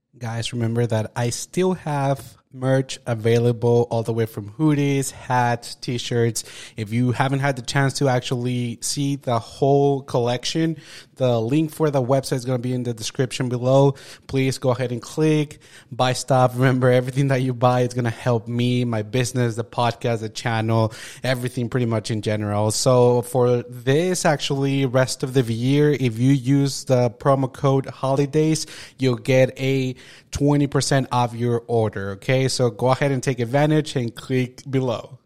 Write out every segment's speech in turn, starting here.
Guys, remember that I still have merch available all the way from hoodies, hats, t-shirts. If you haven't had the chance to actually see the whole collection, the link for the website is going to be in the description below. Please go ahead and click, buy stuff. Remember, everything that you buy is going to help me, my business, the podcast, the channel, everything pretty much in general. So for this actually rest of the year, if you use the promo code holidays, you'll get a 20% off your order. Okay, so go ahead and take advantage and click below.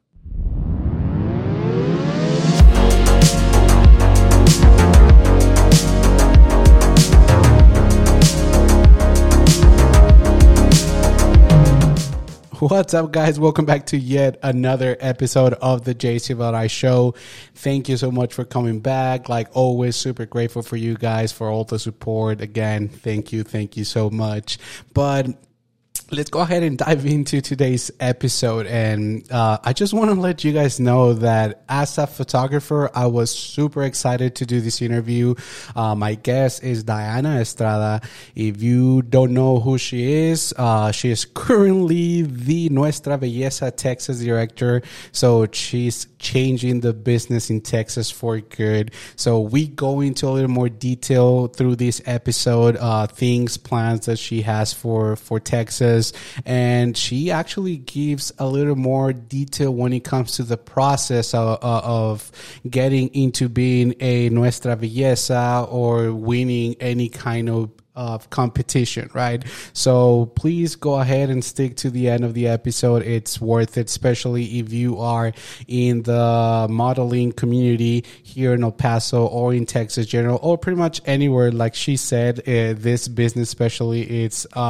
What's up, guys? Welcome back to yet another episode of the JC Valrai Show. Thank you so much for coming back. Like always, super grateful for you guys for all the support. Again, thank you so much. But let's go ahead and dive into today's episode. And I just want to let you guys know that as a photographer, I was super excited to do this interview. My guest is Diana Estrada. If you don't know who she is currently the Nuestra Belleza Texas director. So she's changing the business in Texas for good. So we go into a little more detail through this episode, plans that she has for Texas. And she actually gives a little more detail when it comes to the process of getting into being a Nuestra Belleza or winning any kind of competition, right? So please go ahead and stick to the end of the episode. It's worth it, especially if you are in the modeling community here in El Paso or in Texas general, or pretty much anywhere. Like she said, this business especially,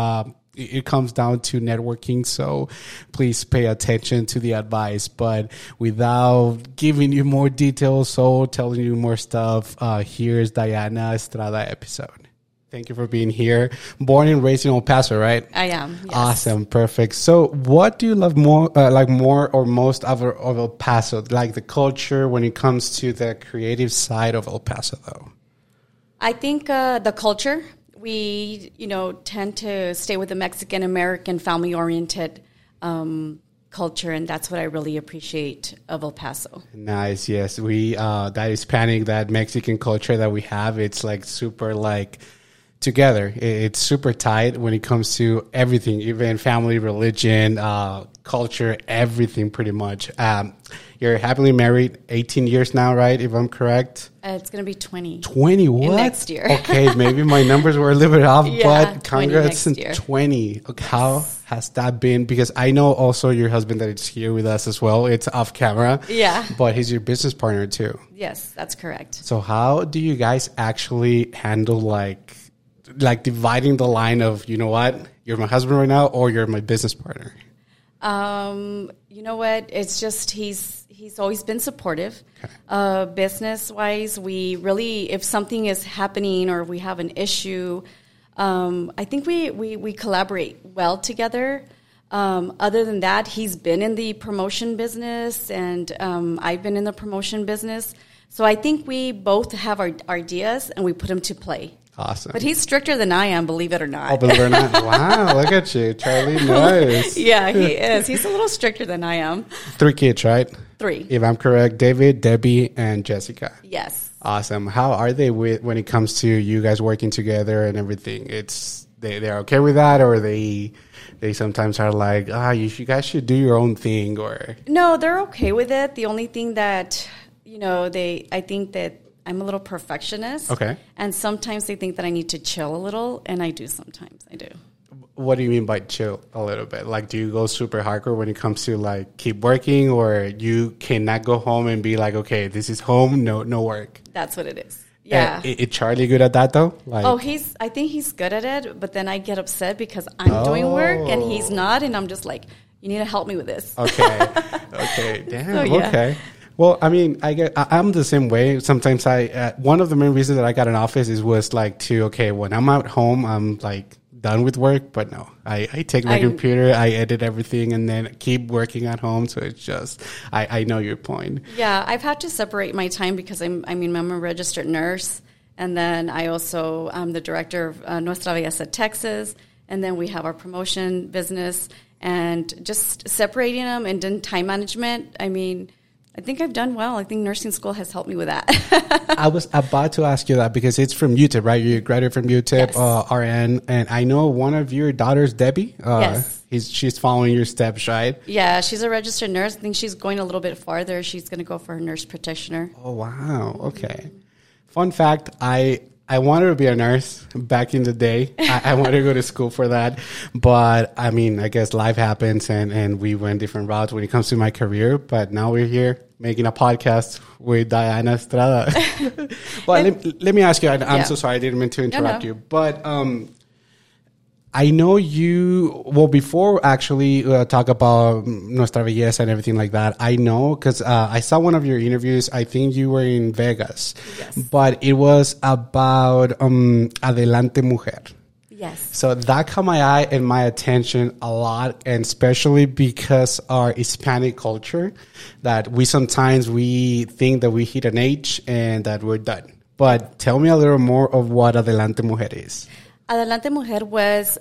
it comes down to networking, so please pay attention to the advice. But without giving you more details, so telling you more stuff, here's Diana Estrada episode. Thank you for being here. Born and raised in El Paso, right? I am. Yes. Awesome. Perfect. So what do you love more or most of El Paso? Like the culture when it comes to the creative side of El Paso, though? I think the culture. We, tend to stay with the Mexican-American family-oriented culture, and that's what I really appreciate of El Paso. Nice, yes. That Hispanic, that Mexican culture that we have, it's like super like together. It's super tight when it comes to everything, even family, religion, culture, everything pretty much. You're happily married 18 years now, right? If I'm correct. It's going to be 20. 20, what? Next year. Okay, maybe my numbers were a little bit off, yeah, but congrats on 20. Okay, how has that been? Because I know also your husband that is here with us as well. It's off camera. Yeah. But he's your business partner too. Yes, that's correct. So how do you guys actually handle like dividing the line of, you know what, you're my husband right now or you're my business partner? You know what? It's just he's always been supportive. Okay. Business-wise, we really, if something is happening or we have an issue, I think we collaborate well together. Other than that, he's been in the promotion business and I've been in the promotion business. So I think we both have our ideas and we put them to play. Awesome. But he's stricter than I am, believe it or not. Oh, believe it or not. Wow, look at you, Charlie. Nice. Yeah, he is. He's a little stricter than I am. 3 kids, right? 3. If I'm correct, David, Debbie, and Jessica. Yes. Awesome. How are they when it comes to you guys working together and everything? They're okay with that, or they sometimes are like, you guys should do your own thing, or? No, they're okay with it. The only thing that, I think that I'm a little perfectionist. Okay. And sometimes they think that I need to chill a little, and I do sometimes. I do. What do you mean by chill a little bit? Like, do you go super hardcore when it comes to, like, keep working, or you cannot go home and be like, okay, this is home, no work? That's what it is. Yeah. Is Charlie good at that, though? Like, I think he's good at it, but then I get upset because I'm doing work and he's not, and I'm just like, you need to help me with this. Okay. Damn, so, yeah. Okay. Well, I mean, I'm the same way. Sometimes one of the main reasons that I got an office was like when I'm at home, I'm like done with work. But no, I take my computer, I edit everything, and then keep working at home. So it's just, I know your point. Yeah, I've had to separate my time because I'm a registered nurse. And then I also, I'm the director of Nuestra Belleza Texas. and then we have our promotion business, and just separating them and then time management. I mean, I think I've done well. I think nursing school has helped me with that. I was about to ask you that because it's from UTEP, right? You graduated from UTEP, Yes. RN, and I know one of your daughters, Debbie. Yes. She's following your steps, right? Yeah, she's a registered nurse. I think she's going a little bit farther. She's going to go for her nurse practitioner. Oh, wow. Okay. Fun fact, I wanted to be a nurse back in the day. I wanted to go to school for that. But, I mean, I guess life happens and we went different routes when it comes to my career. But now we're here making a podcast with Diana Estrada. Well, let me ask you, I'm so sorry, I didn't mean to interrupt you. But I know you, well, before actually talk about Nuestra Belleza and everything like that, I know because I saw one of your interviews. I think you were in Vegas, but it was about Adelante Mujer. Yes. So that caught my eye and my attention a lot, and especially because our Hispanic culture, that we sometimes we think that we hit an age and that we're done. But tell me a little more of what Adelante Mujer is. Adelante Mujer was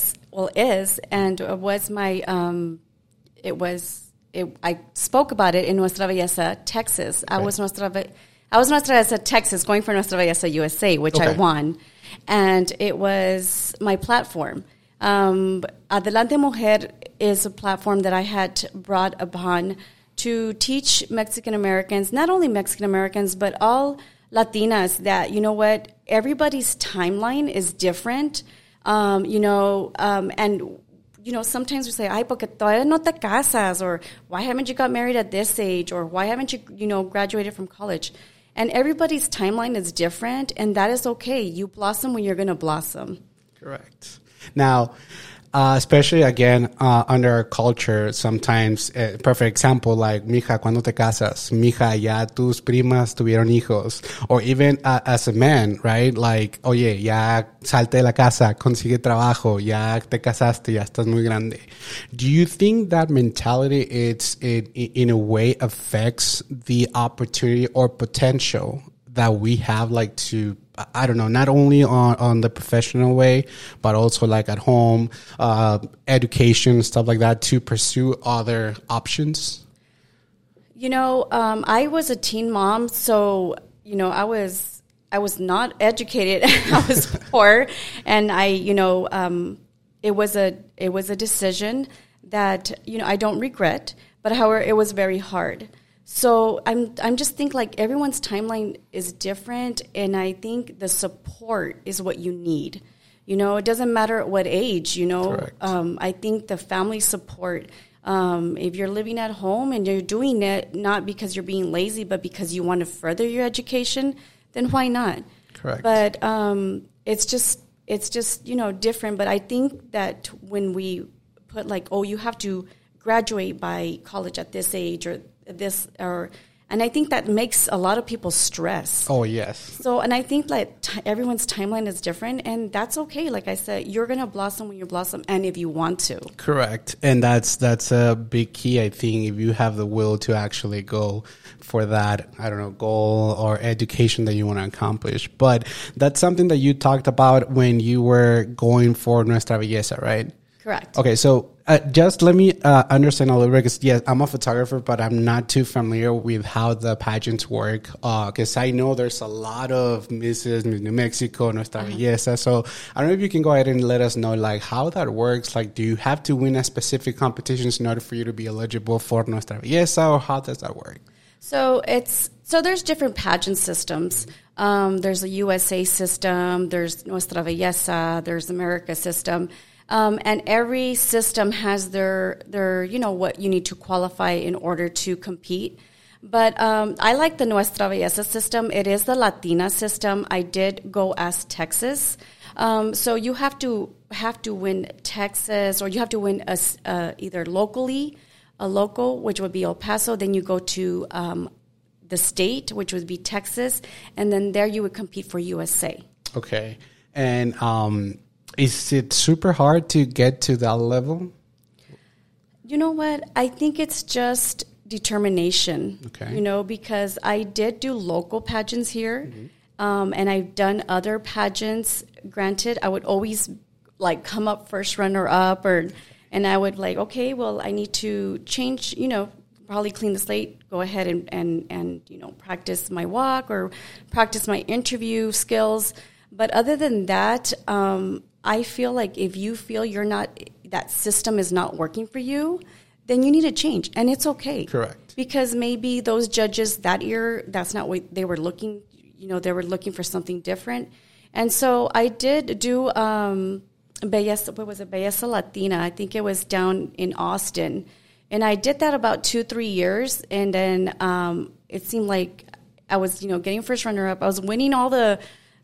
my, I spoke about it in Nuestra Belleza, Texas. Okay. I was Nuestra Belleza, Texas, going for Nuestra Belleza, USA, which I won. And it was my platform. Adelante Mujer is a platform that I had brought upon to teach Mexican Americans, not only Mexican Americans, but all Latinas, that, you know what, everybody's timeline is different, and, you know, sometimes we say, ay, porque todavía no te casas, or why haven't you got married at this age, or why haven't you, graduated from college? And everybody's timeline is different, and that is okay. You blossom when you're going to blossom. Correct. Now, especially again under our culture, sometimes perfect example like mija, cuando te casas, mija, ya tus primas tuvieron hijos, or even as a man, right? Like, oye, ya salte de la casa, consigue trabajo, ya te casaste, ya estás muy grande. Do you think that mentality in a way affects the opportunity or potential that we have, like, to, I don't know, not only on the professional way, but also like at home, education, stuff like that, to pursue other options? I was a teen mom, so, I was not educated. I was poor, and it was a decision that, I don't regret, but however, it was very hard. So I'm just think like everyone's timeline is different, and I think the support is what you need. It doesn't matter at what age, Correct. I think the family support, if you're living at home and you're doing it not because you're being lazy, but because you want to further your education, then why not? Correct. But it's just different. But I think that when we put like, oh, you have to graduate by college at this age, and I think that makes a lot of people stress. Oh, yes. So, and I think like everyone's timeline is different, and that's okay. Like I said, you're going to blossom when you blossom, and if you want to. Correct. And that's a big key, I think, if you have the will to actually go for that, I don't know, goal or education that you want to accomplish. But that's something that you talked about when you were going for Nuestra Belleza, right? Correct. Okay, so just let me understand a little bit, because yes, I'm a photographer, but I'm not too familiar with how the pageants work, because I know there's a lot of Miss New Mexico, Nuestra Belleza. So I don't know if you can go ahead and let us know like how that works. Like, do you have to win a specific competitions in order for you to be eligible for Nuestra Belleza, or how does that work? So there's different pageant systems. There's a USA system, there's Nuestra Belleza, there's America system. And every system has their what you need to qualify in order to compete. But I like the Nuestra Belleza system. It is the Latina system. I did go as Texas. So you have to win Texas, or you have to win either locally, a local, which would be El Paso. Then you go to the state, which would be Texas. And then there you would compete for USA. Okay. And is it super hard to get to that level? You know what? I think it's just determination. Okay. Because I did do local pageants here, and I've done other pageants. Granted, I would always like come up first runner up, and I would like, okay, well, I need to change, probably clean the slate, go ahead and practice my walk or practice my interview skills. But other than that, I feel like if you feel that system is not working for you, then you need to change, and it's okay. Correct. Because maybe those judges that year, that's not what they were looking. They were looking for something different. And so I did do Belleza Latina. I think it was down in Austin. And I did that about 2-3 years. And then it seemed like I was, getting first runner-up. I was winning all the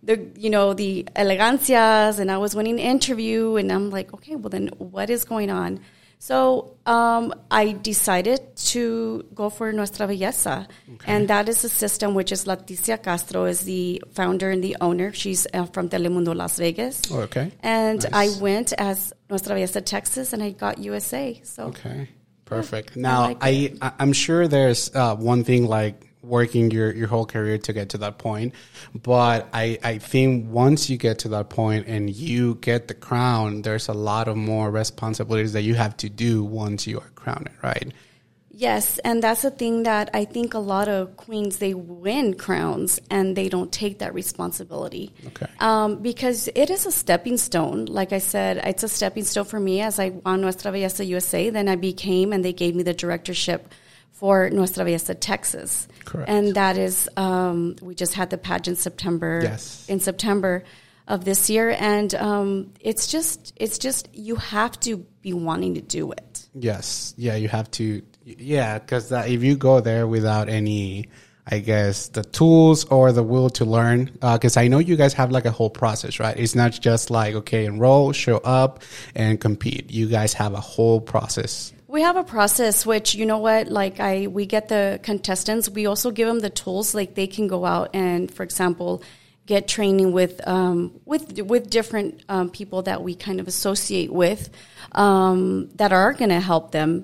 elegancias, and I was winning the interview. And I'm like, okay, well, then what is going on? So I decided to go for Nuestra Belleza, and that is a system which is Leticia Castro is the founder and the owner. She's from Telemundo Las Vegas. Oh, okay. And nice. I went as Nuestra Belleza Texas, and I got USA. So okay, perfect. Now I'm sure there's one thing like working your whole career to get to that point. But I think once you get to that point and you get the crown, there's a lot of more responsibilities that you have to do once you are crowned, right? Yes, and that's the thing that I think a lot of queens, they win crowns and they don't take that responsibility. Okay. Because it is a stepping stone. Like I said, it's a stepping stone for me as I won Nuestra Belleza USA. Then I became, and they gave me the directorship for Nuestra Belleza Texas. Correct. And that is, we just had the pageant in September of this year. And it's just, you have to be wanting to do it. Yes. Yeah, you have to. Yeah, because if you go there without any, I guess, the tools or the will to learn, because I know you guys have like a whole process, right? It's not just like, okay, enroll, show up, and compete. You guys have a whole process. We have a process, which, you know what, like we get the contestants. We also give them the tools, like they can go out and, for example, get training with different people that we kind of associate with that are going to help them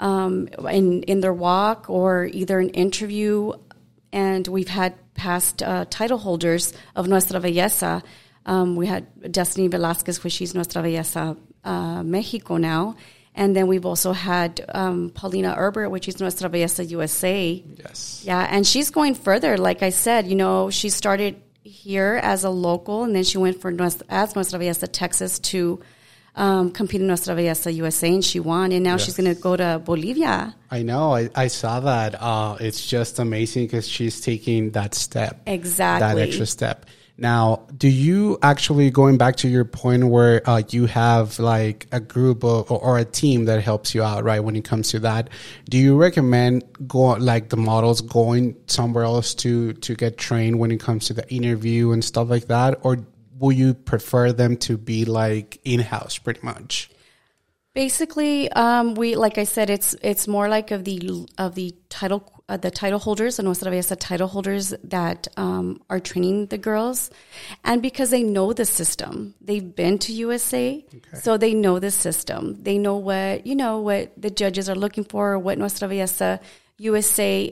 in their walk or either an interview. And we've had past title holders of Nuestra Belleza. We had Destiny Velasquez, which she's Nuestra Belleza Mexico now. And then we've also had Paulina Herbert, which is Nuestra Belleza USA. Yes. Yeah, and she's going further. Like I said, she started here as a local, and then she went for as Nuestra Belleza Texas to compete in Nuestra Belleza USA, and she won. And now she's going to go to Bolivia. I know. I saw that. It's just amazing because she's taking that step. Exactly. That extra step. Now, do you actually, going back to your point where you have like a group or a team that helps you out, right, when it comes to that, do you recommend the models going somewhere else to get trained when it comes to the interview and stuff like that? Or will you prefer them to be like in-house pretty much? Basically, we, like I said, it's more like of the title holders, the Nuestra Belleza title holders that are training the girls, and because they know the system, they've been to USA, so they know the system. They know what the judges are looking for, what Nuestra Belleza USA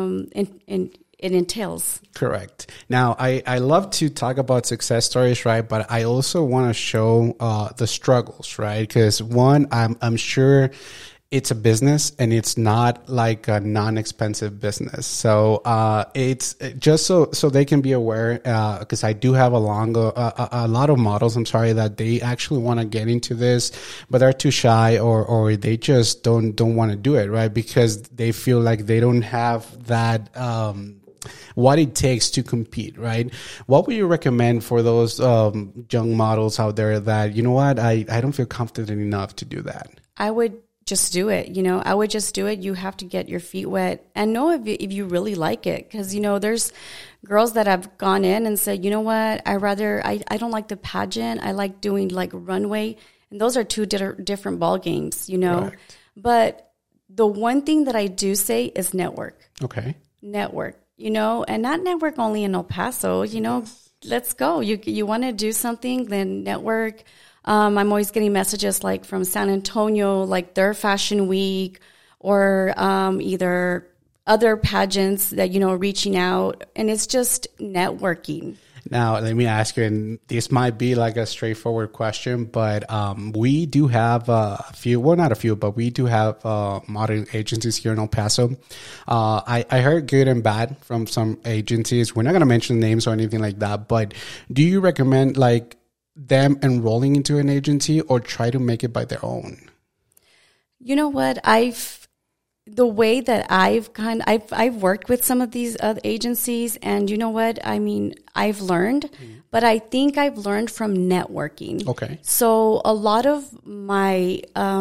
it entails. Correct. Now, I love to talk about success stories, right? But I also want to show the struggles, right? Because one, I'm sure it's a business and it's not like a non-expensive business. So it's just so they can be aware, because I do have a lot of models, that they actually want to get into this, but they're too shy or they just don't want to do it, right? Because they feel like they don't have that what it takes to compete, right? What would you recommend for those young models out there that, I don't feel confident enough to do that? I would just do it. I would just do it. You have to get your feet wet and know if you really like it. Because, there's girls that have gone in and said, you know what, I don't like the pageant. I like doing like runway. And those are two different ball games, Correct. But the one thing that I do say is network. Okay. Network, and not network only in El Paso, let's go. You want to do something, then network. I'm always getting messages like from San Antonio, like their fashion week or either other pageants that, reaching out. And it's just networking. Now, let me ask you, and this might be like a straightforward question, but we do have a few, well, not a few, but we do have modeling agencies here in El Paso. I heard good and bad from some agencies. We're not going to mention names or anything like that, but do you recommend like them enrolling into an agency or try to make it by their own? You know what? The way that I've worked with some of these other agencies, and you know what? I mean, I've learned, but I think I've learned from networking. Okay. So a lot of my,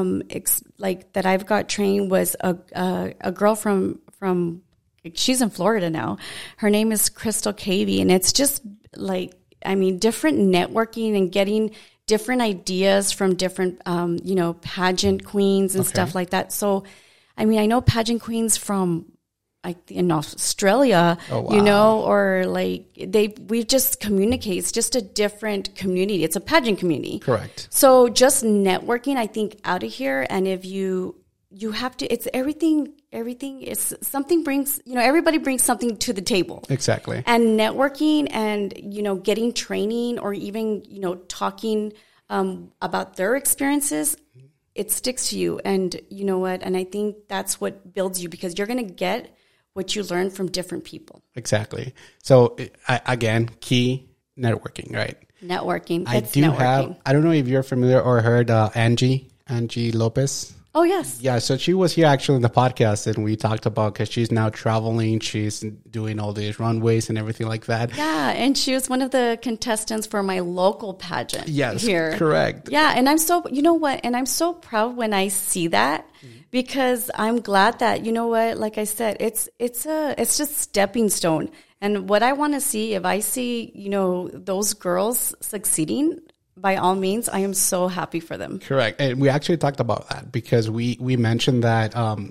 that I've got trained was a girl from, she's in Florida now. Her name is Crystal Cavey, and it's just like, I mean, different networking and getting different ideas from different, pageant queens and stuff like that. So, I mean, I know pageant queens from like in Australia, or like we've just communicate. It's just a different community. It's a pageant community. Correct. So just networking, I think, out of here. And if you have to, it's everything is something brings, everybody brings something to the table. Exactly. And networking and, getting training or even, talking about their experiences, it sticks to you. And you know what? And I think that's what builds you, because you're going to get what you learn from different people. Exactly. So again, key networking, right? Networking. I don't know if you're familiar or heard Angie Lopez. Oh, yes. Yeah, so she was here actually in the podcast, and we talked about, because she's now traveling, she's doing all these runways and everything like that. Yeah, and she was one of the contestants for my local pageant. Yes, here. Correct. Yeah, and I'm so, and I'm so proud when I see that, because I'm glad that, like I said, it's just stepping stone. And what I want to see, if I see, those girls succeeding, by all means, I am so happy for them. Correct. And we actually talked about that, because we mentioned that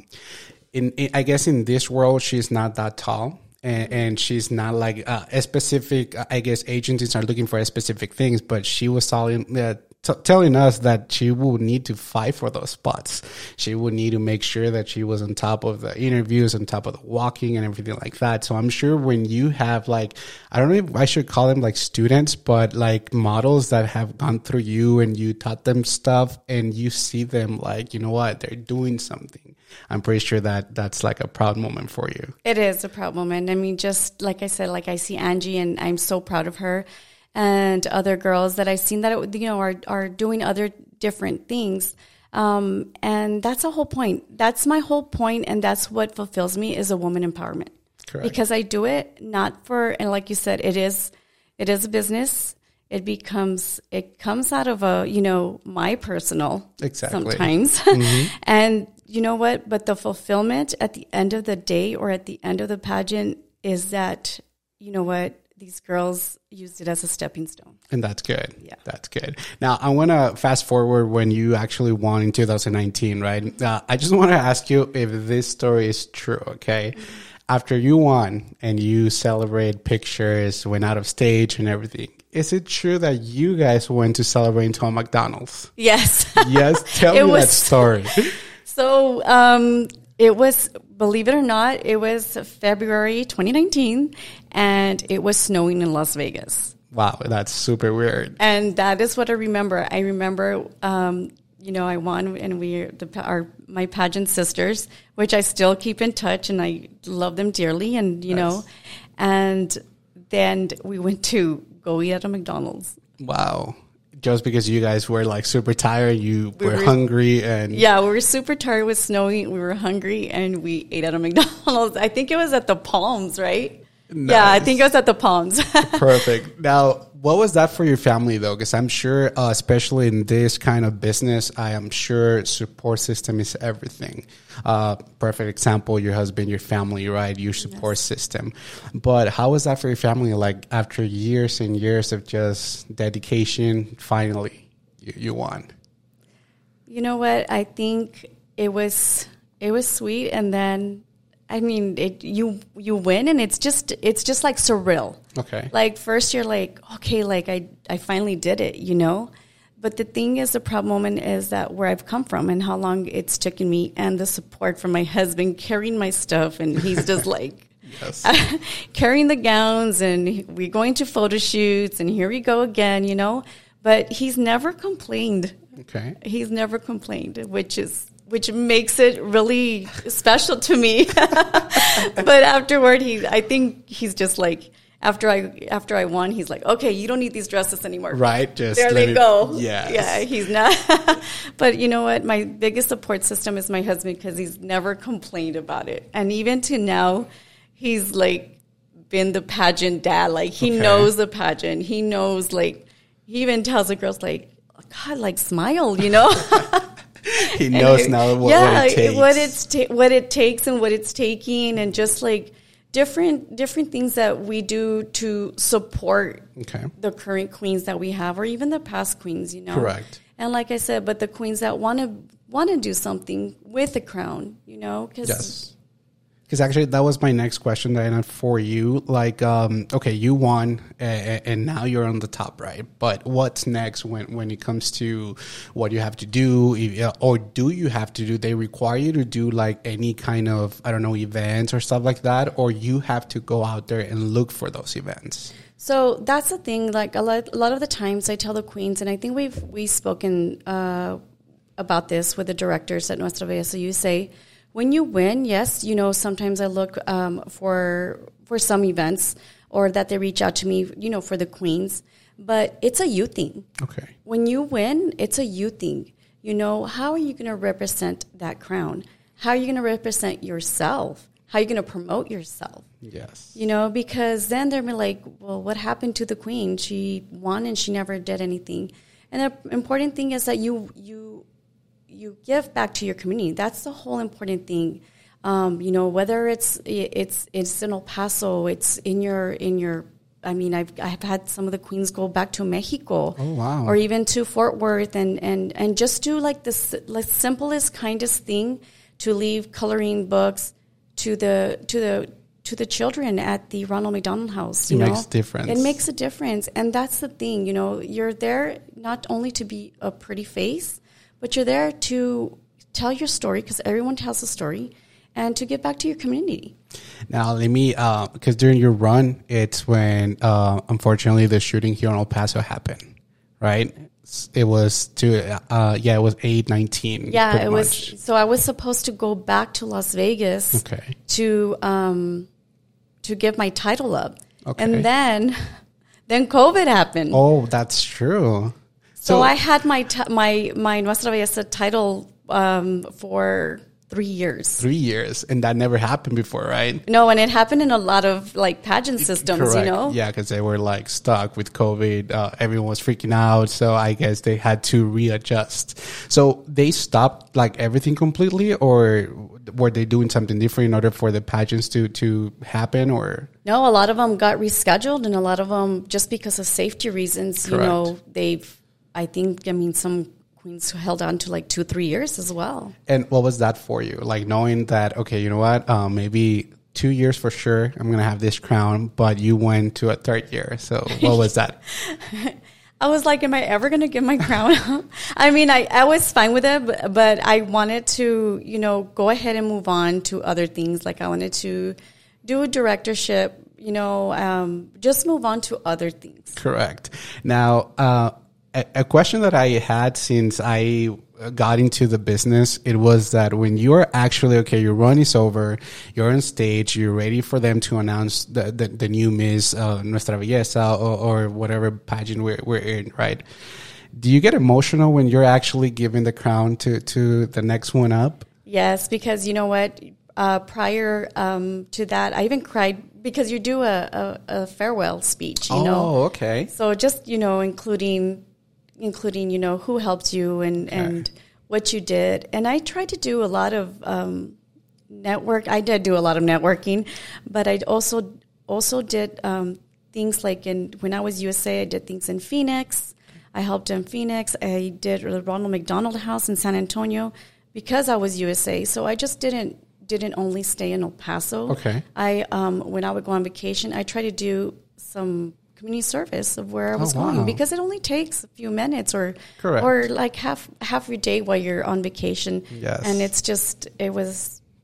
I guess in this world, she's not that tall. And she's not like a specific, I guess agencies are looking for specific things, but she was telling us that she will need to fight for those spots. She would need to make sure that she was on top of the interviews, on top of the walking and everything like that. So I'm sure when you have like, I don't know if I should call them like students, but like models that have gone through you and you taught them stuff and you see them like, you know what, they're doing something. I'm pretty sure that that's like a proud moment for you. It is a proud moment. I mean, just like I said, like I see Angie and I'm so proud of her. And other girls that I've seen that, are doing other different things. And that's the whole point. That's my whole point. And that's what fulfills me, is a woman empowerment. Correct. Because I do it not for, and like you said, it is a business. It comes out of my personal sometimes. Mm-hmm. And you know what? But the fulfillment at the end of the day or at the end of the pageant is that, you know what? These girls used it as a stepping stone. And that's good. Yeah. That's good. Now, I want to fast forward when you actually won in 2019, right? I just want to ask you if this story is true, okay? Mm-hmm. After you won and you celebrate pictures, went out of stage and everything, is it true that you guys went to celebrate into a McDonald's? Yes. Yes? Tell me that story. So, it was, believe it or not, it was February 2019, and it was snowing in Las Vegas. Wow, that's super weird. And that is what I remember. I remember, I won, and my pageant sisters, which I still keep in touch, and I love them dearly, and and then we went to go eat at a McDonald's. Wow. Just because you guys were like super tired, you were hungry, and yeah, we were super tired. It was snowing. We were hungry, and we ate at a McDonald's. I think it was at the Palms, right? Nice. Yeah, I think it was at the Palms. Perfect. Now, what was that for your family though? Because I'm sure, especially in this kind of business, I am sure support system is everything. Perfect example, your husband, your family, right? Your support system. But how was that for your family? Like after years and years of just dedication, finally you won. You know what? I think it was sweet, and then I mean, you win, and it's just like surreal. Okay. Like first you're like, okay, like I finally did it, But the thing is, the proud moment is that where I've come from and how long it's taken me, and the support from my husband carrying my stuff, and he's just like, Yes. carrying the gowns, and we're going to photo shoots, and here we go again, you know. But he's never complained. Okay. He's never complained, which makes it really special to me. But afterward, I think he's just like, after I won, he's like, okay, you don't need these dresses anymore. Right. Just there they go. Yes. Yeah, he's not. But you know what? My biggest support system is my husband, because he's never complained about it. And even to now, he's like been the pageant dad. Like he knows the pageant. He knows, like, he even tells the girls, like, God, like, smile, you know? He knows now what it takes. what it takes and what it's taking, and just like different things that we do to support the current queens that we have, or even the past queens, you know. Correct. And like I said, but the queens that want to do something with the crown, you know. Yes. Because actually, that was my next question, Diana, for you. Like, okay, you won, and now you're on the top, right? But what's next when it comes to what you have to do, or do you have to do? They require you to do like any kind of, I don't know, events or stuff like that, or you have to go out there and look for those events. So that's the thing. Like a lot of the times, I tell the queens, and I think we've spoken about this with the directors at Nuestra Belleza USA. When you win, yes, you know, sometimes I look for some events, or that they reach out to me, you know, for the queens. But it's a you thing. Okay. When you win, it's a you thing. You know, how are you going to represent that crown? How are you going to represent yourself? How are you going to promote yourself? Yes. You know, because then they're like, well, what happened to the queen? She won and she never did anything. And the important thing is that you give back to your community. That's the whole important thing. You know, whether it's in El Paso, it's in your. I mean, I've had some of the queens go back to Mexico. Oh wow! Or even to Fort Worth, and just do like this, like simplest, kindest thing, to leave coloring books to the children at the Ronald McDonald House. It makes a difference. It makes a difference, and that's the thing. You know, you're there not only to be a pretty face, but you're there to tell your story, because everyone tells a story, and to give back to your community. Now, let me, because during your run, it's when, unfortunately, the shooting here in El Paso happened, right? It was it was 8/19. Yeah, it was. So I was supposed to go back to Las Vegas to give my title up. Okay. And then COVID happened. Oh, that's true. So I had my Nuestra Belleza title for 3 years. 3 years, and that never happened before, right? No, and it happened in a lot of like pageant systems. Correct. You know. Yeah, because they were like stuck with COVID. Everyone was freaking out, so I guess they had to readjust. So they stopped like everything completely, or were they doing something different in order for the pageants to happen, or? No, a lot of them got rescheduled, and a lot of them just because of safety reasons. Correct. You know, some queens held on to like 2-3 years as well. And what was that for you? Like knowing that, okay, you know what, maybe 2 years for sure, I'm going to have this crown, but you went to a third year. So what was that? I was like, am I ever going to get my crown? I mean, I was fine with it, but I wanted to, you know, go ahead and move on to other things. Like I wanted to do a directorship, you know, just move on to other things. Correct. Now, a question that I had since I got into the business, it was that when you're actually, okay, your run is over, you're on stage, you're ready for them to announce the new Miss Nuestra Belleza or whatever pageant we're in, right? Do you get emotional when you're actually giving the crown to the next one up? Yes, because you know what? Prior to that, I even cried because you do a farewell speech, you know? Oh, okay. So just, you know, including, you know, who helped you and what you did. And I tried to do a lot of network. I did do a lot of networking, but I also did things like when I was USA, I did things in Phoenix. I helped in Phoenix. I did the Ronald McDonald House in San Antonio because I was USA. So I just didn't only stay in El Paso. Okay. When I would go on vacation, I try to do some community service of where I was going, because it only takes a few minutes or like half your day while you're on vacation. Yes. And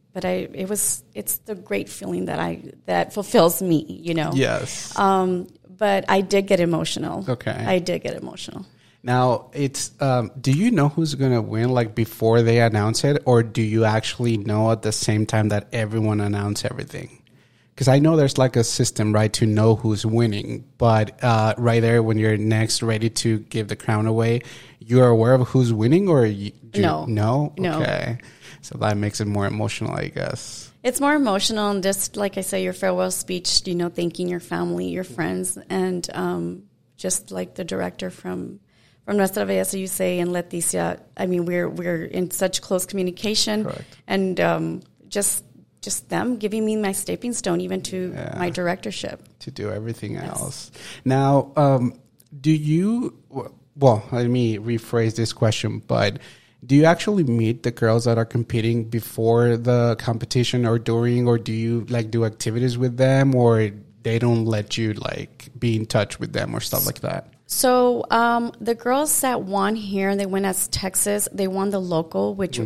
it's the great feeling that fulfills me, you know. Yes. But I did get emotional. Okay. I did get emotional. Now, it's do you know who's going to win, like, before they announce it, or do you actually know at the same time that everyone announce everything? Because I know there's, like, a system, right, to know who's winning, but right there when you're next ready to give the crown away, you're aware of who's winning, or No. No? No. Okay. So that makes it more emotional, I guess. It's more emotional, and just like I say, your farewell speech, you know, thanking your family, your friends, and just like the director from Nuestra Belleza, you say, and Leticia. I mean, we're in such close communication. Correct. And just them giving me my stepping stone, even to my directorship. To do everything else. Now, do you? Well, let me rephrase this question, but do you actually meet the girls that are competing before the competition or during, or do you like do activities with them, or they don't let you like be in touch with them or stuff like that? So the girls that won here, they went as Texas. They won the local, which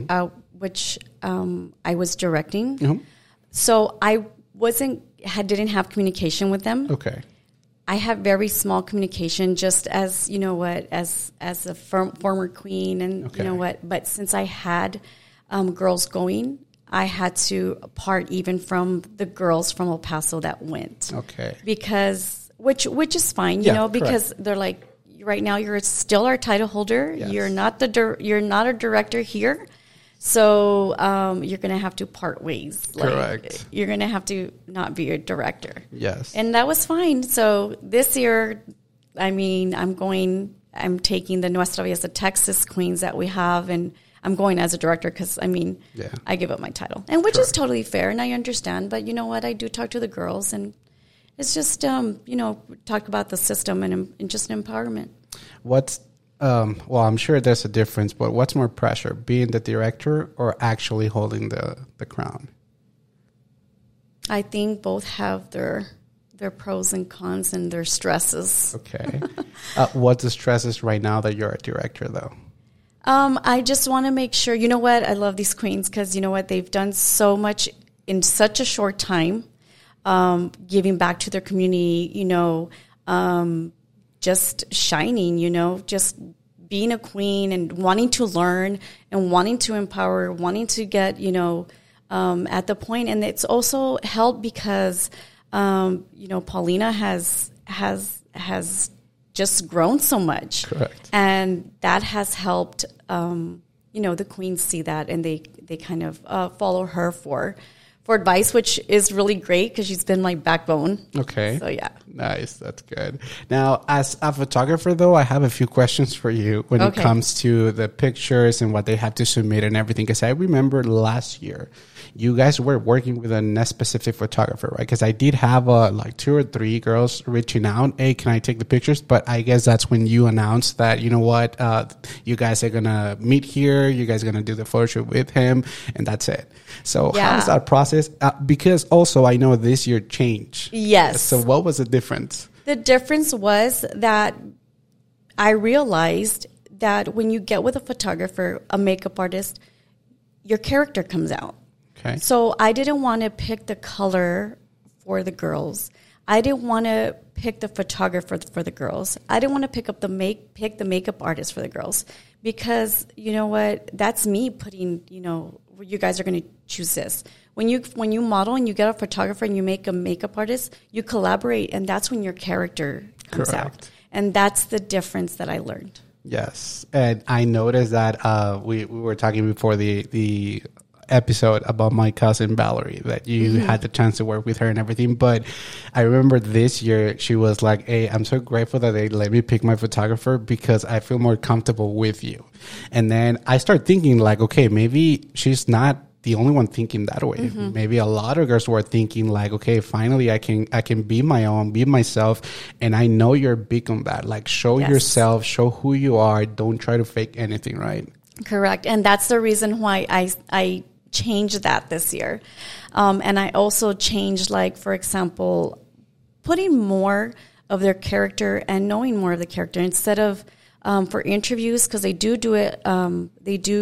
I was directing. Mm-hmm. So I didn't have communication with them. Okay. I have very small communication, just as, you know what, as a former queen, and Okay. you know what. But since I had girls going, I had to part even from the girls from El Paso that went. Okay. Because which is fine, you know, because correct. they're like, right now you're still our title holder. Yes. You're not a director here. So you're going to have to part ways. Correct. You're going to have to not be a director. Yes. And that was fine. So this year, I mean, I'm taking the Nuestra Belleza Texas queens that we have, and I'm going as a director because, I mean, I give up my title. And which is totally fair, and I understand. But you know what? I do talk to the girls, and it's just, you know, talk about the system and just empowerment. What's well, I'm sure there's a difference, but what's more pressure, being the director or actually holding the crown? I think both have their pros and cons and their stresses. Okay. What's the stresses right now that you're a director, though? I just want to make sure, you know what? I love these queens because, you know what? They've done so much in such a short time, giving back to their community, you know, just shining, you know, just being a queen and wanting to learn and wanting to empower, wanting to get, you know, at the point. And it's also helped because, you know, Paulina has just grown so much. Correct. And that has helped, you know, the queens see that, and they kind of follow her for advice, which is really great because she's been my backbone. Okay. So, yeah. Nice. That's good. Now, as a photographer, though, I have a few questions for you when it comes to the pictures and what they have to submit and everything. Because I remember last year, you guys were working with a specific photographer, right? Because I did have like 2 or 3 girls reaching out, hey, can I take the pictures? But I guess that's when you announced that, you know what, you guys are going to meet here. You guys are going to do the photo shoot with him, and that's it. So how is that process? Because also I know this year changed. Yes. So what was the difference? The difference was that I realized that when you get with a photographer, a makeup artist, your character comes out. Okay. So I didn't want to pick the color for the girls. I didn't want to pick the photographer for the girls. I didn't want to pick the makeup artist for the girls, because you know what? That's me putting, you know, you guys are going to choose this. When you model and you get a photographer and you make a makeup artist, you collaborate, and that's when your character comes out. And that's the difference that I learned. Yes. And I noticed that we were talking before the episode about my cousin Valerie, that you had the chance to work with her and everything. But I remember this year she was like, hey, I'm so grateful that they let me pick my photographer because I feel more comfortable with you. And then I start thinking like, okay, maybe she's not the only one thinking that way. Maybe a lot of girls were thinking like, okay, finally I can be my own, be myself. And I know you're big on that. Like, show yourself, show who you are. Don't try to fake anything, right? Correct. And that's the reason why I changed that this year. And I also changed, like, for example, putting more of their character and knowing more of the character instead of for interviews, because they do it, they do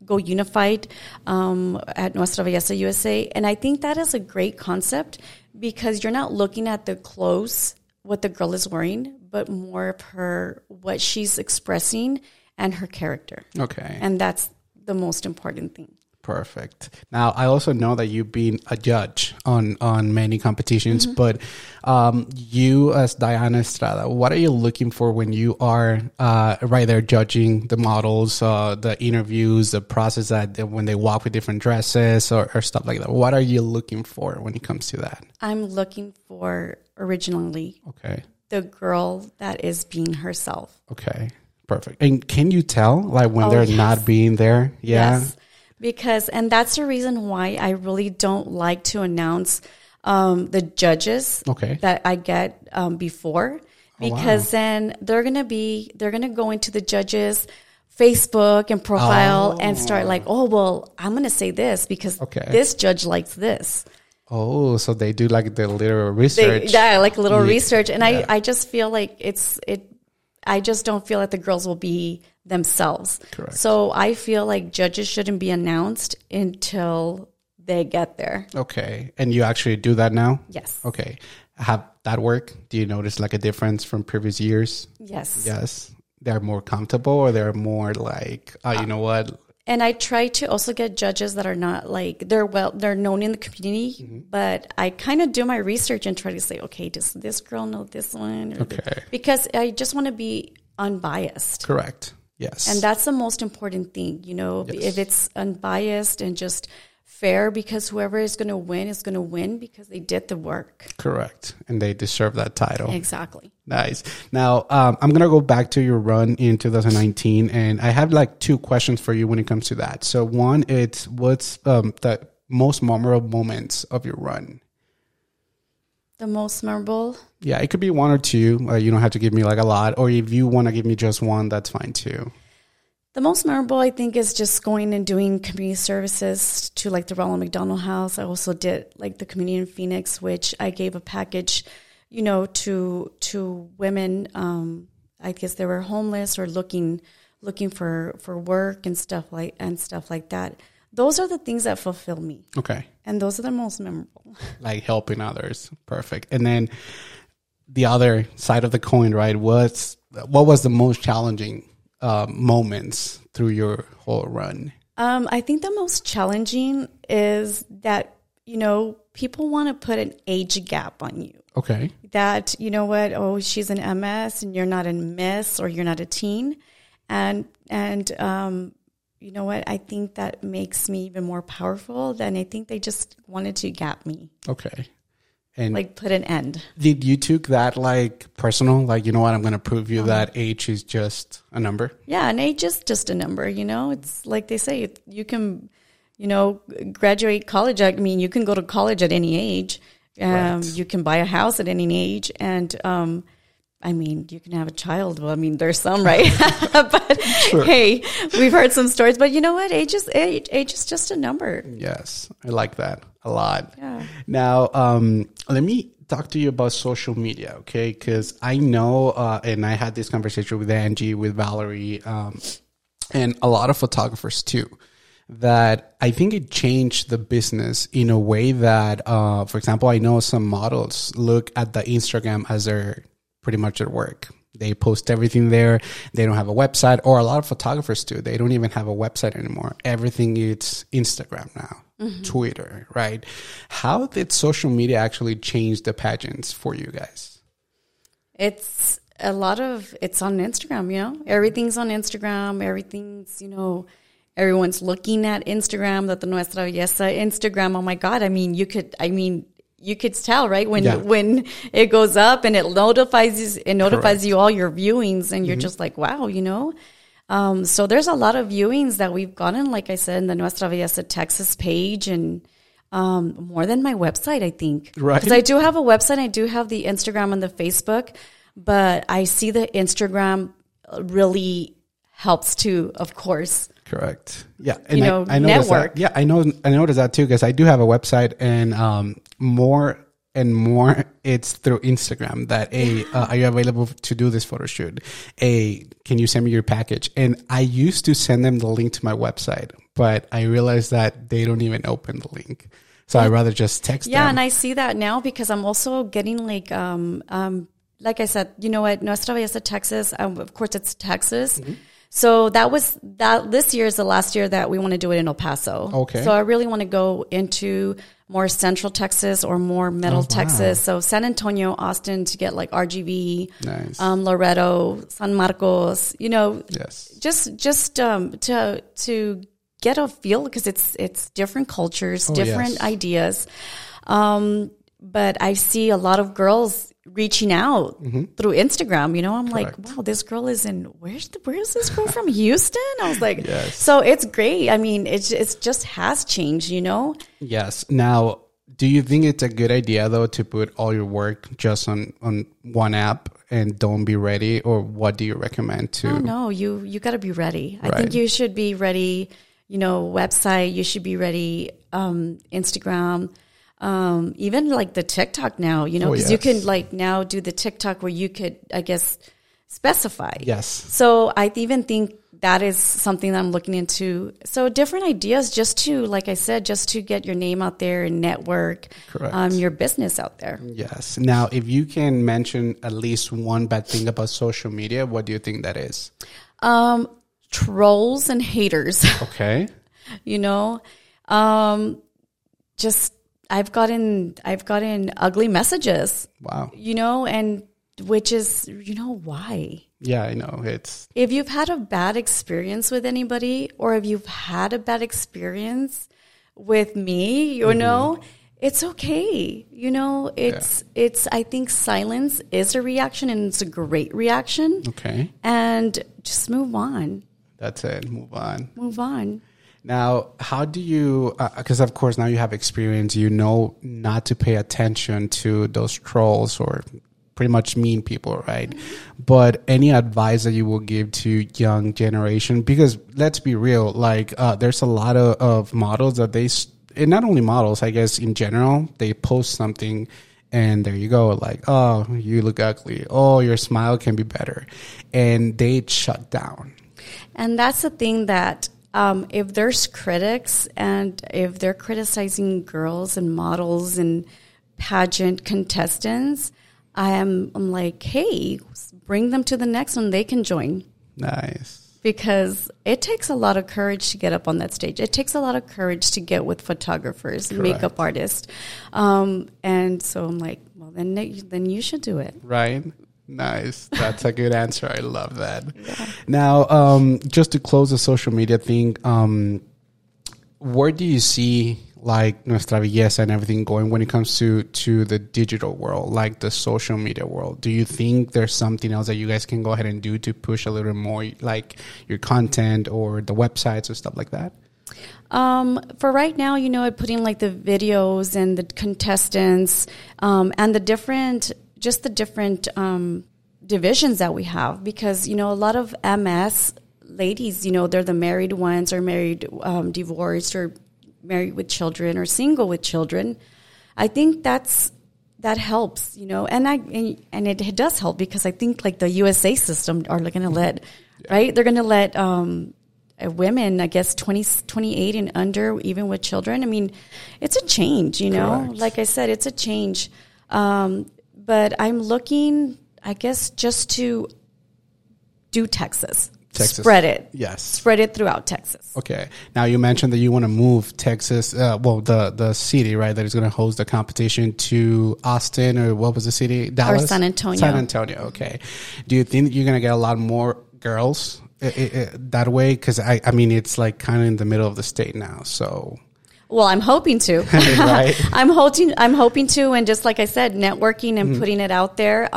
go unified at Nuestra Belleza USA. And I think that is a great concept because you're not looking at the clothes, what the girl is wearing, but more of what she's expressing and her character. Okay. And that's the most important thing. Perfect. Now, I also know that you've been a judge on many competitions, but you as Diana Estrada, what are you looking for when you are right there judging the models, the interviews, the process that when they walk with different dresses or stuff like that? What are you looking for when it comes to that? I'm looking for originally the girl that is being herself. Okay, perfect. And can you tell like when they're not being there? Yeah. Yes. Because, and that's the reason why I really don't like to announce the judges that I get before, because then they're going to go into the judges' Facebook and profile and start like, oh, well, I'm going to say this because this judge likes this. Oh, so they do like the little research. Like a little research. And I just feel like I just don't feel like the girls will be themselves. Correct. So I feel like judges shouldn't be announced until they get there. Okay. And you actually do that now? Yes. Okay. Have that work? Do you notice like a difference from previous years? Yes. Yes. They're more comfortable or they're more like, you know what? And I try to also get judges that are not like, they're known in the community, but I kind of do my research and try to say, okay, does this girl know this one? Because I just want to be unbiased. Correct. Yes. And that's the most important thing, if it's unbiased and just fair, because whoever is going to win because they did the work. Correct. And they deserve that title. Exactly. Nice. Now, I'm going to go back to your run in 2019, and I have like two questions for you when it comes to that. So one, it's what's the most memorable moments of your run? The most memorable? Yeah, it could be one or two. You don't have to give me like a lot. Or if you want to give me just one, that's fine too. The most memorable, I think, is just going and doing community services to like the Ronald McDonald House. I also did like the community in Phoenix, which I gave a package, to women. I guess they were homeless or looking for work and stuff like that. Those are the things that fulfill me. Okay. And those are the most memorable. Like helping others. Perfect. And then the other side of the coin, right? What was the most challenging moments through your whole run? I think the most challenging is that, people want to put an age gap on you. Okay. That, she's an MS and you're not a miss or you're not a teen. And you know what? I think that makes me even more powerful than I think they just wanted to gap me. Okay. And like put an end. Did you took that like personal? Like, you know what? I'm going to prove you that age is just a number. Yeah. And age is just a number, It's like they say, you can, graduate college. I mean, you can go to college at any age. Right. You can buy a house at any age. And, I mean, you can have a child. Well, I mean, there's some, right? But sure. Hey, we've heard some stories. But you know what? Age is just a number. Yes, I like that a lot. Yeah. Now, let me talk to you about social media, okay? Because I know, and I had this conversation with Angie, with Valerie, and a lot of photographers too, that I think it changed the business in a way that, for example, I know some models look at the Instagram as their pretty much at work. They post everything there. They don't have a website, or a lot of photographers do. They don't even have a website anymore. Everything is Instagram now, Twitter, right? How did social media actually change the pageants for you guys? It's on Instagram, Everything's on Instagram. Everything's, everyone's looking at Instagram, that the Nuestra Belleza Instagram. Oh my God. You could tell, right? When it goes up and it notifies you all your viewings, and you're just like, wow, So there's a lot of viewings that we've gotten, like I said, in the Nuestra Belleza Texas page, and more than my website, I think. Right. Because I do have a website, I do have the Instagram and the Facebook, but I see the Instagram really helps too, of course. Correct. Yeah. And I network. I noticed that too, because I do have a website, and more and more it's through Instagram that, are you available to do this photo shoot? Can you send me your package? And I used to send them the link to my website, but I realized that they don't even open the link. So I'd rather just text them. Yeah, and I see that now because I'm also getting like I said, you know what, Nuestra Belleza, Texas, of course it's Texas. Mm-hmm. So this year is the last year that we want to do it in El Paso. Okay. So I really want to go into more central Texas or more middle Texas. So San Antonio, Austin to get like RGV, nice. Loretto, San Marcos, yes. just to get a feel because it's different cultures, different ideas. But I see a lot of girls reaching out through Instagram. I'm Correct. like, wow, this girl is in, where's this girl from Houston? I was like, yes. So it's great. I mean, it's just has changed, Yes. Now, do you think it's a good idea though to put all your work just on one app and don't be ready, or what do you recommend to? Oh, no, you got to be ready. Right. I think you should be ready, website, you should be ready, Instagram, even like the TikTok now, because you can like now do the TikTok where you could, I guess, specify. Yes. So I even think that is something that I'm looking into. So different ideas just to, like I said, just to get your name out there and network. Correct. Your business out there. Yes. Now, if you can mention at least one bad thing about social media, what do you think that is? Trolls and haters. Okay. Just I've gotten ugly messages. Wow. And which is, why? Yeah, I know. If you've had a bad experience with anybody, or if you've had a bad experience with me, it's okay. It's I think silence is a reaction, and it's a great reaction. Okay. And just move on. That's it. Move on. Move on. Now, how do you, because of course now you have experience, not to pay attention to those trolls or pretty much mean people, right? But any advice that you will give to young generation? Because let's be real, like there's a lot of models that and not only models, I guess in general, they post something and there you go, like, oh, you look ugly. Oh, your smile can be better. And they shut down. And that's the thing that if there's critics and if they're criticizing girls and models and pageant contestants, I'm like, hey, bring them to the next one. They can join. Nice. Because it takes a lot of courage to get up on that stage. It takes a lot of courage to get with photographers, Correct. makeup artists. And so I'm like, well, then you should do it. Right. Nice. That's a good answer. I love that. Yeah. Now, just to close the social media thing, where do you see like Nuestra Belleza and everything going when it comes to the digital world, like the social media world? Do you think there's something else that you guys can go ahead and do to push a little more, like your content or the websites or stuff like that? For right now, putting like the videos and the contestants, and the different divisions that we have, because, a lot of MS ladies, they're the married ones or married, divorced or married with children or single with children. I think that helps, and it does help, because I think like the USA system are going to let, right? They're going to let, women, I guess 28 and under, even with children. I mean, it's a change, Correct. Like I said, it's a change. But I'm looking, I guess, just to do Texas. Spread it. Yes. Spread it throughout Texas. Okay. Now you mentioned that you want to move Texas, the city, right, that is going to host the competition to Austin, or what was the city? Dallas? Or San Antonio. San Antonio. Okay. Do you think you're going to get a lot more girls that way? Because I mean, it's like kind of in the middle of the state now. So. Well, I'm hoping to. Right. I'm hoping to, and just like I said, networking and putting it out there.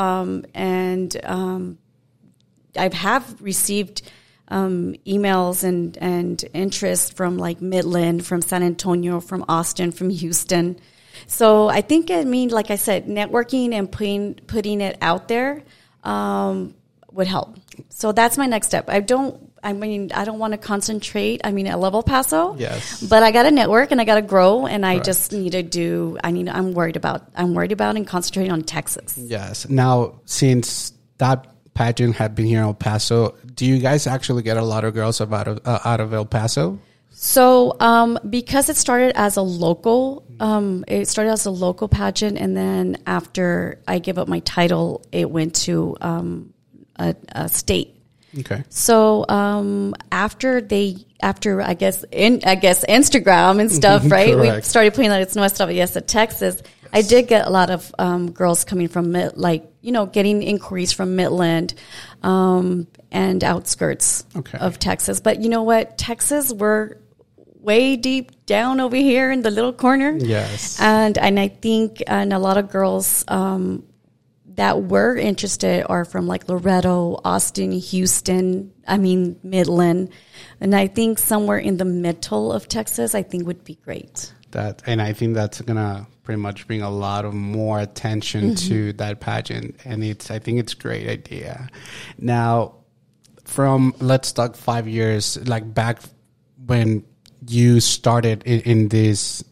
I have received emails and interest from like Midland, from San Antonio, from Austin, from Houston. So I think, like I said, networking and putting it out there would help. So that's my next step. I don't I mean, I don't want to concentrate. I mean, at Level Paso. Yes. But I got to network and I got to grow, and I Correct. just need to do. I'm worried about and concentrating on Texas. Yes. Now, since that pageant had been here in El Paso, do you guys actually get a lot of girls out of El Paso? So, because it started as a local, pageant, and then after I give up my title, it went to a state. Okay. So, after I guess Instagram and stuff, right? We Correct. started putting that it's Nuestra Belleza, Texas. Yes. I did get a lot of girls coming from getting inquiries from Midland and outskirts of Texas. But you know what? Texas, we're way deep down over here in the little corner. Yes. And I think a lot of girls that were interested are from like Loretto, Austin, Houston, Midland. And I think somewhere in the middle of Texas, I think would be great. And I think that's going to pretty much bring a lot of more attention to that pageant. And I think it's a great idea. Now, let's talk 5 years, like back when you started in this,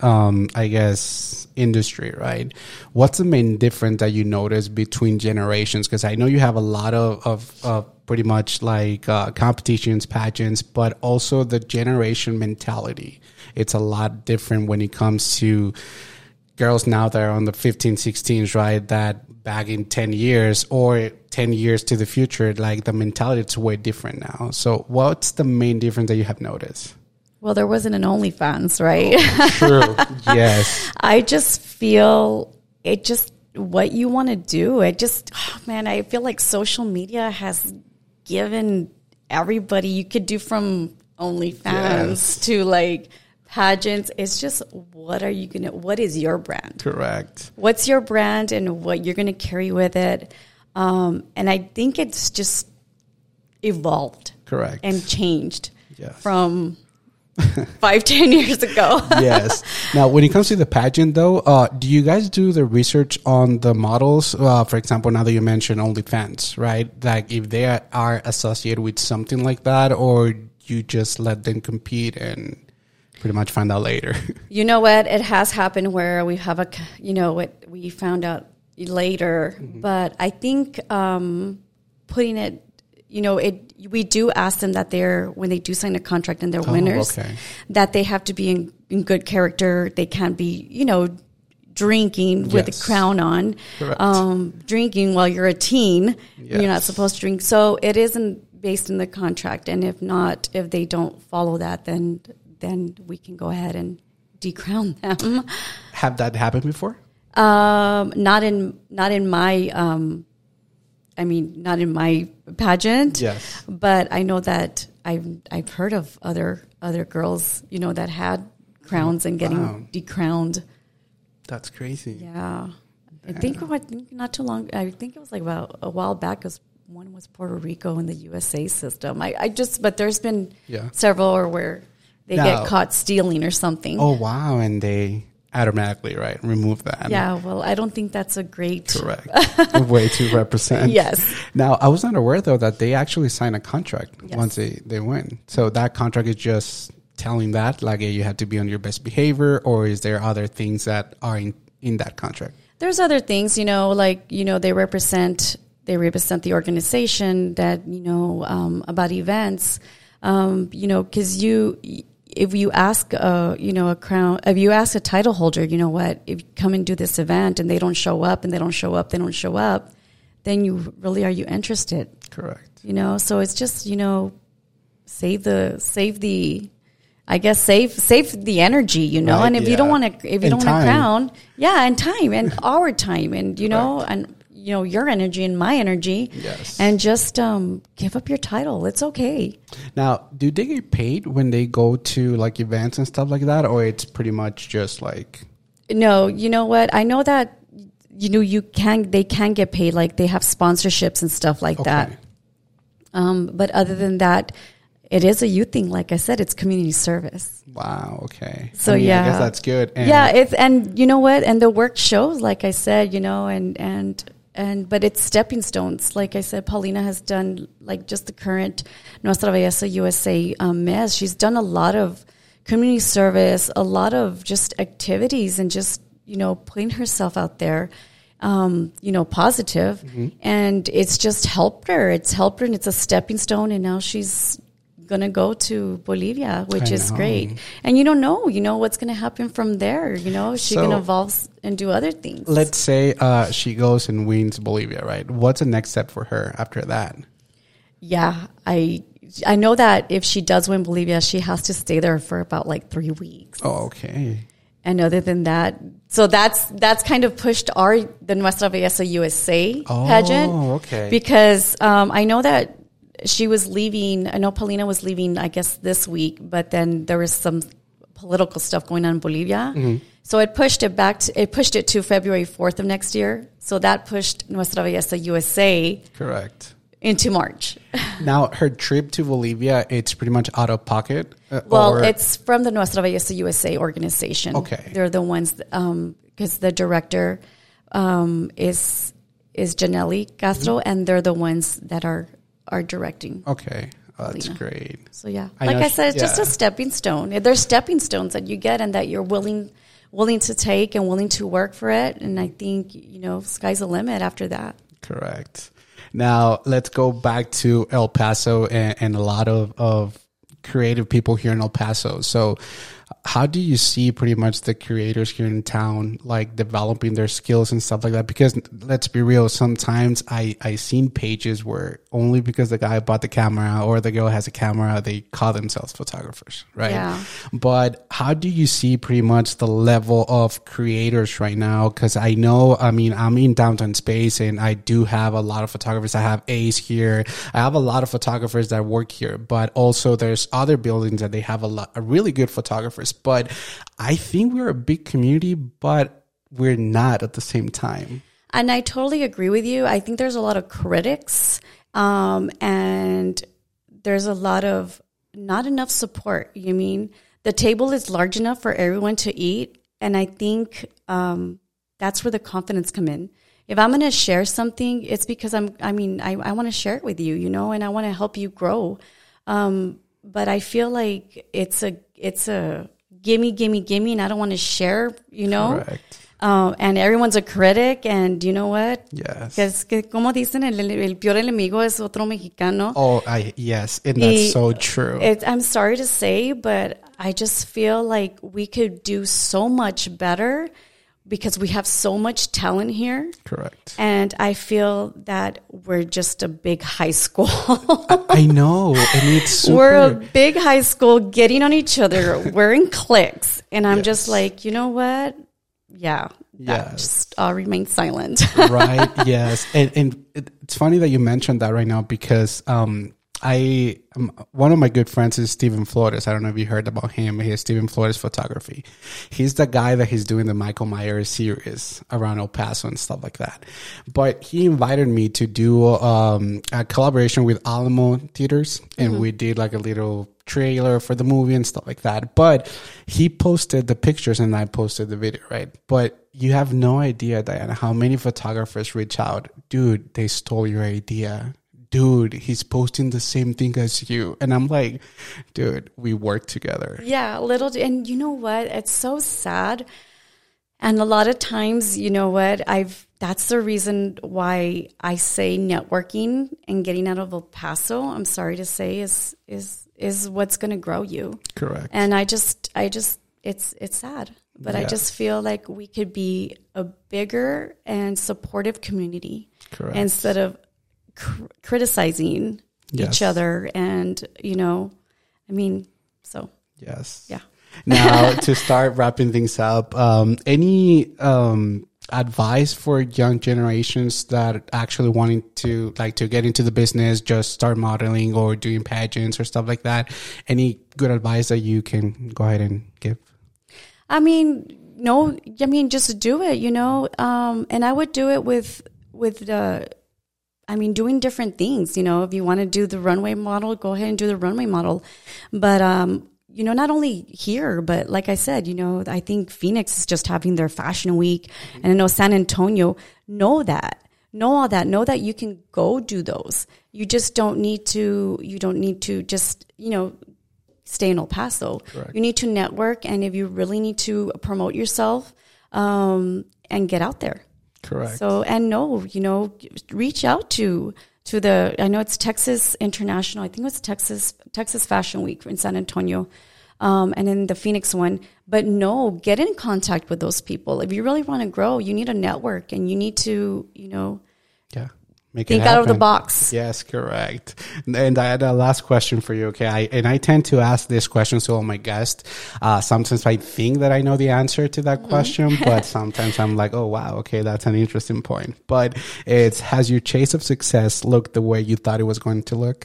industry, right? What's the main difference that you notice between generations? Because I know you have a lot of pretty much like competitions, pageants, but also the generation mentality. It's a lot different when it comes to girls now that are on the 15, 16s, right? That back in 10 years or 10 years to the future, like the mentality is way different now. So what's the main difference that you have noticed? Well, there wasn't an OnlyFans, right? Oh, true. Yes. I just feel what you want to do. I feel like social media has given everybody, you could do from OnlyFans to like pageants. It's just, what is your brand? Correct. What's your brand and what you're going to carry with it? And I think it's just evolved. Correct. And changed from 5-10 years ago. Yes. Now, when it comes to the pageant, though, do you guys do the research on the models? For example, now that you mentioned OnlyFans, right? Like if they are associated with something like that, or you just let them compete and pretty much find out later? You know what? It has happened where we have we found out later, but I think putting it, we do ask them that when they do sign a contract and they're winners, that they have to be in good character. They can't be, drinking with a crown on, drinking while you're a teen. Yes. You're not supposed to drink. So it isn't based in the contract. And if they don't follow that, then we can go ahead and decrown them. Have that happened before? Not in my not in my pageant. Yes. But I know that I've heard of other girls, that had crowns and getting decrowned. That's crazy. Yeah. I think not too long. I think it was like about a while back. Because one was Puerto Rico in the USA system. But there's been several where they get caught stealing or something. Oh wow! And they automatically remove that. Yeah. Well, I don't think that's a great way to represent. Yes. Now, I was not aware though that they actually sign a contract once they win. So that contract is just telling that like you have to be on your best behavior, or is there other things that are in that contract? There's other things, they represent the organization that, about events, because if you ask if you ask a title holder, if you come and do this event and they don't show up, then are you interested? Correct. So it's just, save the energy, and if you don't want to, crown, and time and our time and, and, your energy and my energy, and just give up your title. It's okay. Now, do they get paid when they go to like events and stuff like that, or it's pretty much just like? No, you know what? I know that they can get paid, like they have sponsorships and stuff like that. But other than that, it is a youth thing. Like I said, it's community service. Wow. Okay. So I guess that's good. And you know what? And the work shows, like I said, and but it's stepping stones. Like I said, Paulina has done like just the current Nuestra Belleza USA Miss. She's done a lot of community service, a lot of just activities, and just putting herself out there, positive. And it's just helped her. It's helped her, and it's a stepping stone. And now she's going to go to Bolivia, which is great. And you don't know, what's going to happen from there. She can evolve and do other things. Let's say she goes and wins Bolivia, right? What's the next step for her after that? Yeah, I know that if she does win Bolivia, she has to stay there for about like 3 weeks. Oh, okay. And other than that, so that's kind of pushed the Nuestra Belleza USA pageant. Oh, okay. Because I know that she was leaving. I know Paulina was leaving, I guess, this week, but then there was some political stuff going on in Bolivia. So it pushed it back. It pushed it to February 4th of next year. So that pushed Nuestra Belleza USA Correct. into March. Now, her trip to Bolivia, it's pretty much out of pocket? It's from the Nuestra Belleza USA organization. Okay. They're the ones, because the director is Janelli Castro, and they're the ones that are directing. Okay. Oh, that's great. So, yeah. Like I said, it's just a stepping stone. There's stepping stones that you get and that you're willing to take and willing to work for it. And I think, sky's the limit after that. Correct. Now, let's go back to El Paso and a lot of creative people here in El Paso. So how do you see pretty much the creators here in town, like developing their skills and stuff like that? Because let's be real, sometimes I seen pages where only because the guy bought the camera or the girl has a camera, they call themselves photographers, right? Yeah. But how do you see pretty much the level of creators right now? Because I know, I'm in downtown space and I do have a lot of photographers. I have Ace here. I have a lot of photographers that work here, but also there's other buildings that they have a really good photographers. But I think we're a big community, but we're not at the same time. And I totally agree with you. I think there's a lot of critics, and there's a lot of not enough support. The table is large enough for everyone to eat, and I think that's where the confidence come in. If I'm going to share something, it's because I want to share it with you, and I want to help you grow. But I feel like it's a gimme, and I don't want to share, Correct. And everyone's a critic, and you know what? Yes. Because como dicen, el peor enemigo es otro mexicano. Oh, yes, and that's so true. I'm sorry to say, but I just feel like we could do so much better because we have so much talent here. Correct. And I feel that we're just a big high school. I know. And it's super. We're a big high school getting on each other. We're in cliques. And I'm just like, you know what? Yeah. Just remain silent. Right. Yes. And it's funny that you mentioned that right now because one of my good friends is Steven Flores. I don't know if you heard about him. He has Steven Flores Photography. He's the guy that he's doing the Michael Myers series around El Paso and stuff like that. But he invited me to do a collaboration with Alamo Theaters, and we did like a little trailer for the movie and stuff like that. But he posted the pictures and I posted the video, right? But you have no idea, Diana, how many photographers reach out. Dude, they stole your idea. Dude, he's posting the same thing as you. And I'm like, dude, we work together. Yeah, and you know what? It's so sad. And a lot of times, you know what? That's the reason why I say networking and getting out of El Paso, I'm sorry to say, is what's going to grow you. Correct. And I just it's sad. But I just feel like we could be a bigger and supportive community. Correct. Instead of criticizing each other, and so yes. Yeah. Now, to start wrapping things up, any advice for young generations that actually wanting to get into the business, just start modeling or doing pageants or stuff like that? Any good advice that you can go ahead and give? Just do it, and I would do it with doing different things. If you want to do the runway model, go ahead and do the runway model. But, not only here, but like I said, I think Phoenix is just having their fashion week. And I know San Antonio, know that. know all that. Know that you can go do those. You just don't need to, just, stay in El Paso. Correct. You need to network, and if you really need to promote yourself, and get out there. Correct. So, and reach out to I know it's Texas International. I think it was Texas Fashion Week in San Antonio. And then the Phoenix one. But no, get in contact with those people. If you really want to grow, you need a network, and you need to, think out of the box. Yes, correct. And I had a last question for you. Okay. I tend to ask this question to all my guests. Sometimes I think that I know the answer to that question, but sometimes I'm like, oh, wow. Okay. That's an interesting point. But has your chase of success looked the way you thought it was going to look?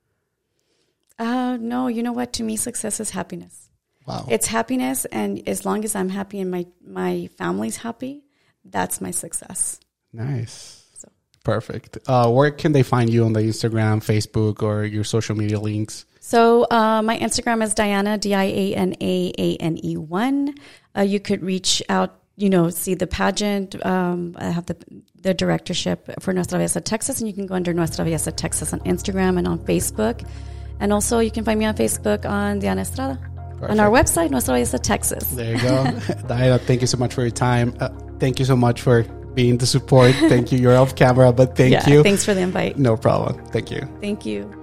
No, you know what? To me, success is happiness. Wow. It's happiness. And as long as I'm happy and my family's happy, that's my success. Nice. Perfect. Where can they find you on the Instagram, Facebook, or your social media links? So my Instagram is Diana, DianaANE1. You could reach out, see the pageant. I have the directorship for Nuestra Belleza Texas, and you can go under Nuestra Belleza Texas on Instagram and on Facebook. And also you can find me on Facebook on Diana Estrada. Perfect. On our website, Nuestra Belleza Texas. There you go. Diana, thank you so much for your time. Thank you so much for being the support. Thank you. You're off camera, but thank you. Thanks for the invite. No problem. Thank you. Thank you.